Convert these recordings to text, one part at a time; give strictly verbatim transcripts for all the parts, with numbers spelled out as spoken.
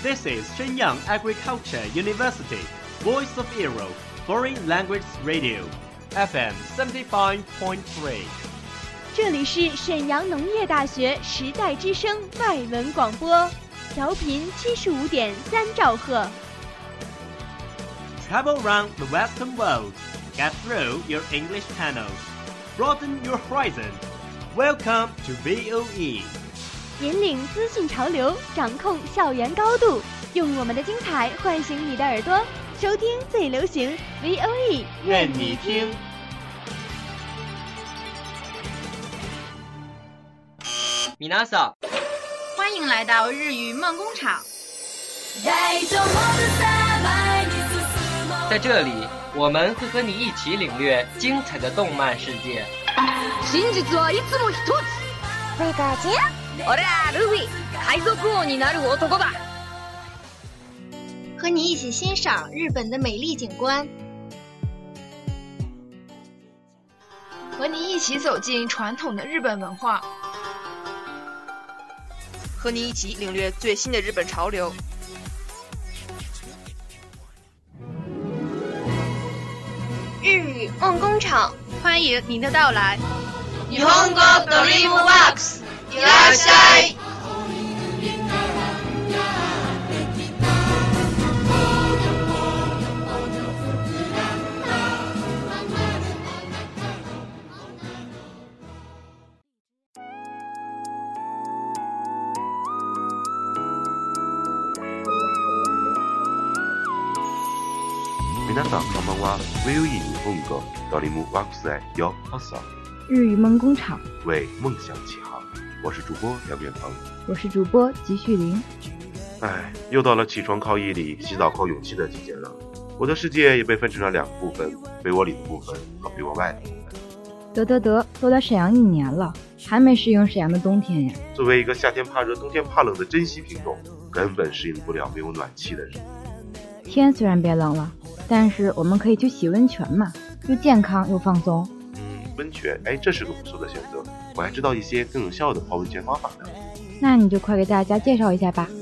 This is Shenyang Agriculture University, Voice of Europe, Foreign Language Radio, F M seventy-five point three。 这里是沈阳农业大学时代之声外文广播，调频七十五点三兆赫。 Travel around the Western world, get through your English channels, broaden your horizon. Welcome to V O E。 引领资讯潮流，掌控校园高度，用我们的精彩唤醒你的耳朵，收听最流行 V O E， 愿你听。 米娜桑， 欢迎来到日语梦工厂。 在这里，我们会和你一起领略精彩的动漫世界。 真実はいつも一つ。 贝卡姐， 俺ルフィ，海賊王になる男だ。 和你一起欣赏日本的美丽景观， 和你一起走进传统的日本文化， 和你一起领略最新的日本潮流。 日语梦工厂， 欢迎您的到来。 日本語ドリームワークス、いらっしゃい。 皆さんこんばんは。V O E 日本語ドリームワークスへようこそ。 日语梦工厂， 为梦想起航。我是主播梁远鹏， 我是主播吉旭林。 哎，又到了起床靠毅力，洗澡靠勇气的季节了。我的世界也被分成了两部分，被窝里的部分和被窝外的部分。 得得得，都来沈阳一年了，还没适应沈阳的冬天呀。 作为一个夏天怕热、冬天怕冷的珍稀品种，根本适应不了没有暖气的人。 天虽然变冷了，但是我们可以去洗温泉嘛，又健康又放松。 嗯，温泉，哎，这是个不错的选择。我还知道一些更有效的泡温泉方法呢。 那你就快给大家介绍一下吧。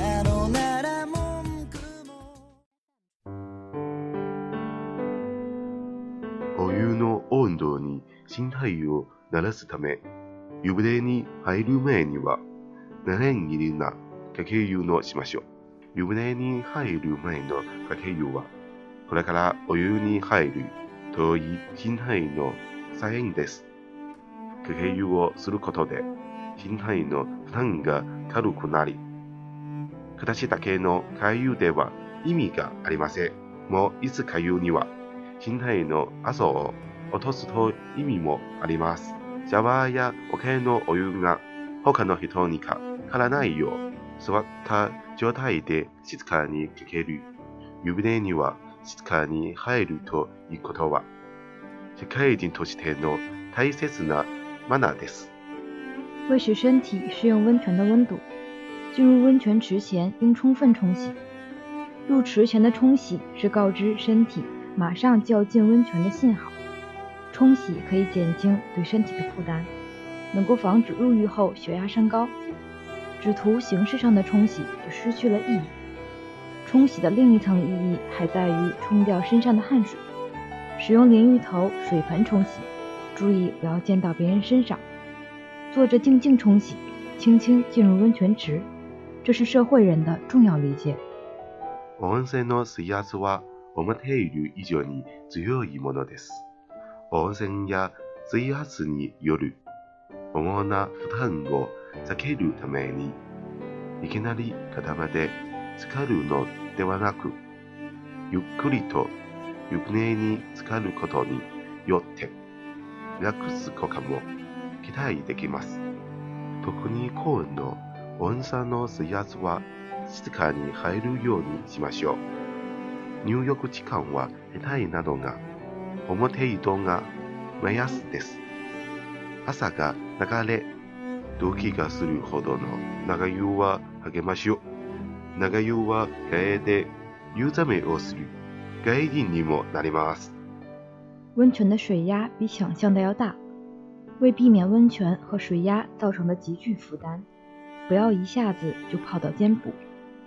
お湯の温度に身体を慣らすため、湯船に入る前にはなれんぎりなかけ湯のしましょう。湯船に入る前のかけ湯は、これからお湯に入るという身体のサインです。かけ湯をすることで、身体の負担が軽くなり、形だけのかゆでは意味がありません。もういつかゆには、身体の圧を落とすと意味もあります。シャワーや桶のお湯が他の人にかからないよう、座った状態で静かにかける。湯船には静かに入るということは、社会人としての大切なマナーです。 为使身体适应温泉的温度，进入温泉池前应充分冲洗。入池前的冲洗是告知身体马上就要进温泉的信号。冲洗可以减轻对身体的负担，能够防止入浴后血压升高。只图形式上的冲洗就失去了意义。冲洗的另一层意义还在于冲掉身上的汗水。使用淋浴头、水盆冲洗，注意不要溅到别人身上。坐着静静冲洗，轻轻进入温泉池，这是社会人的重要理解。 温泉の水圧は思っている以上に強いものです。温泉や水圧による重な負担を避けるために、いきなり肩まで浸かるのではなく、ゆっくりと湯船に浸かることによってリラックス効果も期待できます。特に高温の温泉の水圧は静かに入るようにしましょう。入浴時間は下手などが表移動が目安です。朝が流れ、動悸がするほどの長湯は励ましょう。長湯は替えで湯冷めをする帰りにもなります。 温泉的水压比想象的要大，为避免温泉和水压造成的急剧负担，不要一下子就泡到肩部。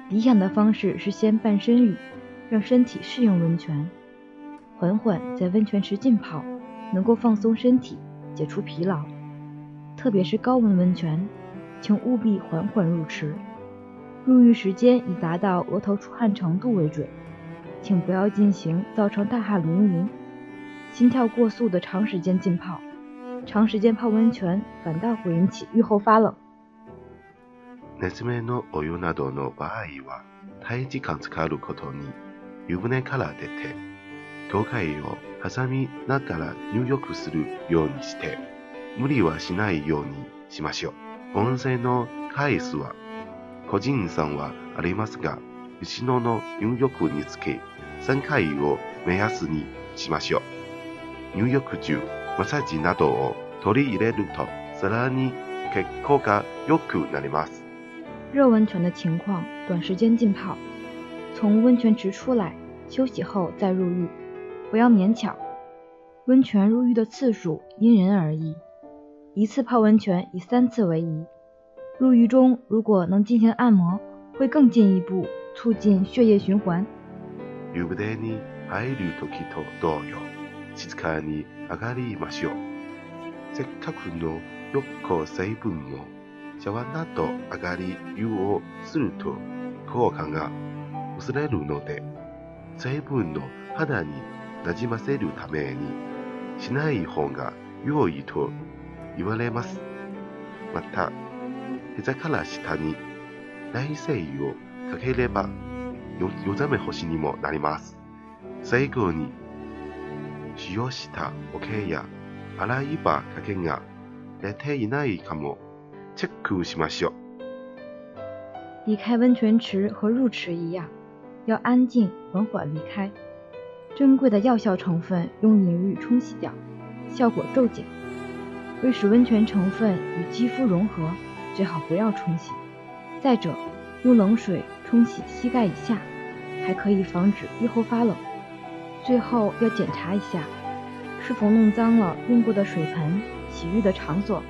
理想的方式是先半身浴，让身体适应温泉，缓缓在温泉池浸泡，能够放松身体，解除疲劳。特别是高温温泉，请务必缓缓入池，入浴时间以达到额头出汗程度为准，请不要进行造成大汗淋漓、心跳过速的长时间浸泡，长时间泡温泉反倒会引起浴后发冷。 熱めのお湯などの場合は、短時間浸かることに湯船から出て、境界を挟みながら入浴するようにして、無理はしないようにしましょう。温泉の回数は個人差はありますが、一度の入浴につきさんかいを目安にしましょう。入浴中、マッサージなどを取り入れると、さらに血行が良くなります。 热温泉的情况，短时间浸泡，从温泉池出来，休息后再入浴，不要勉强。温泉入浴的次数因人而异，一次泡温泉以三次为宜。入浴中如果能进行按摩，会更进一步促进血液循環。 湯船に入るときと同様、静かに上がりましょう。せっかくの浴槽成分をシャワーなど上がり湯をすると効果が薄れるので、成分の肌になじませるためにしない方が良いと言われます。また、膝から下に内精油をかければ夜冷め干しにもなります。最後に使用した桶や洗い場かけが出ていないかもチェックしましょう。 离开温泉池和入池一样，要安静缓缓离开。珍贵的药效成分用淋浴冲洗掉，效果骤减。为使温泉成分与肌肤融合，最好不要冲洗。再者，用冷水冲洗膝盖以下，还可以防止浴后发冷。最后要检查一下，是否弄脏了用过的水盆、洗浴的场所。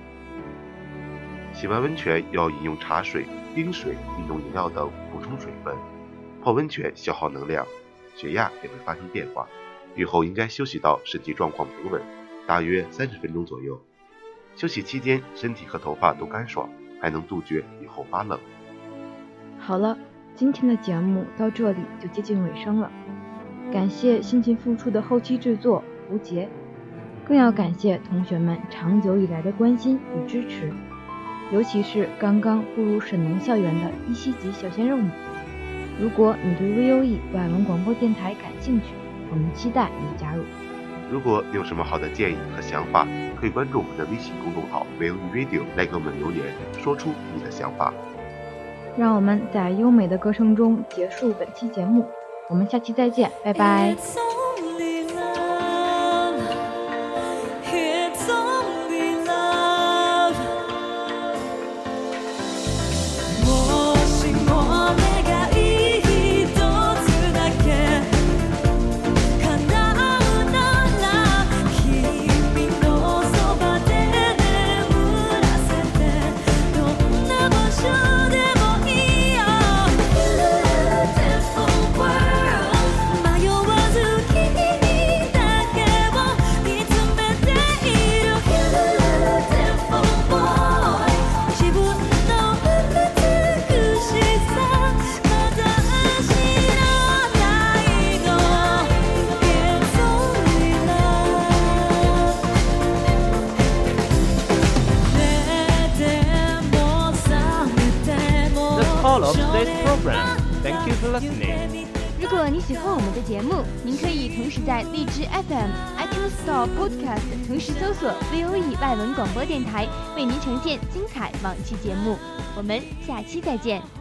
洗完温泉要饮用茶水、冰水、运动饮料等补充水分。泡温泉消耗能量，血压也会发生变化。浴后应该休息到身体状况平稳，大约三十分钟左右。休息期间，身体和头发都干爽，还能杜绝浴后发冷。 好了，今天的节目到这里就接近尾声了。感谢辛勤付出的后期制作胡杰，更要感谢同学们长久以来的关心与支持。尤其是刚刚步入沈农校园的一西级小鲜肉们，如果你对 V O E 外文广播电台感兴趣，我们期待你的加入。 如果你有什么好的建议和想法，可以关注我们的微信公众号 V O E Radio 来给我们留言，说出你的想法。 让我们在优美的歌声中结束本期节目，我们下期再见，拜拜。 Of today's program. Thank you for listening. 如果你喜欢我们的节目，您可以同时在荔枝 F M、iTunes Store Podcast 同时搜索 V O E 外文广播电台，为您呈现精彩往期节目。我们下期再见。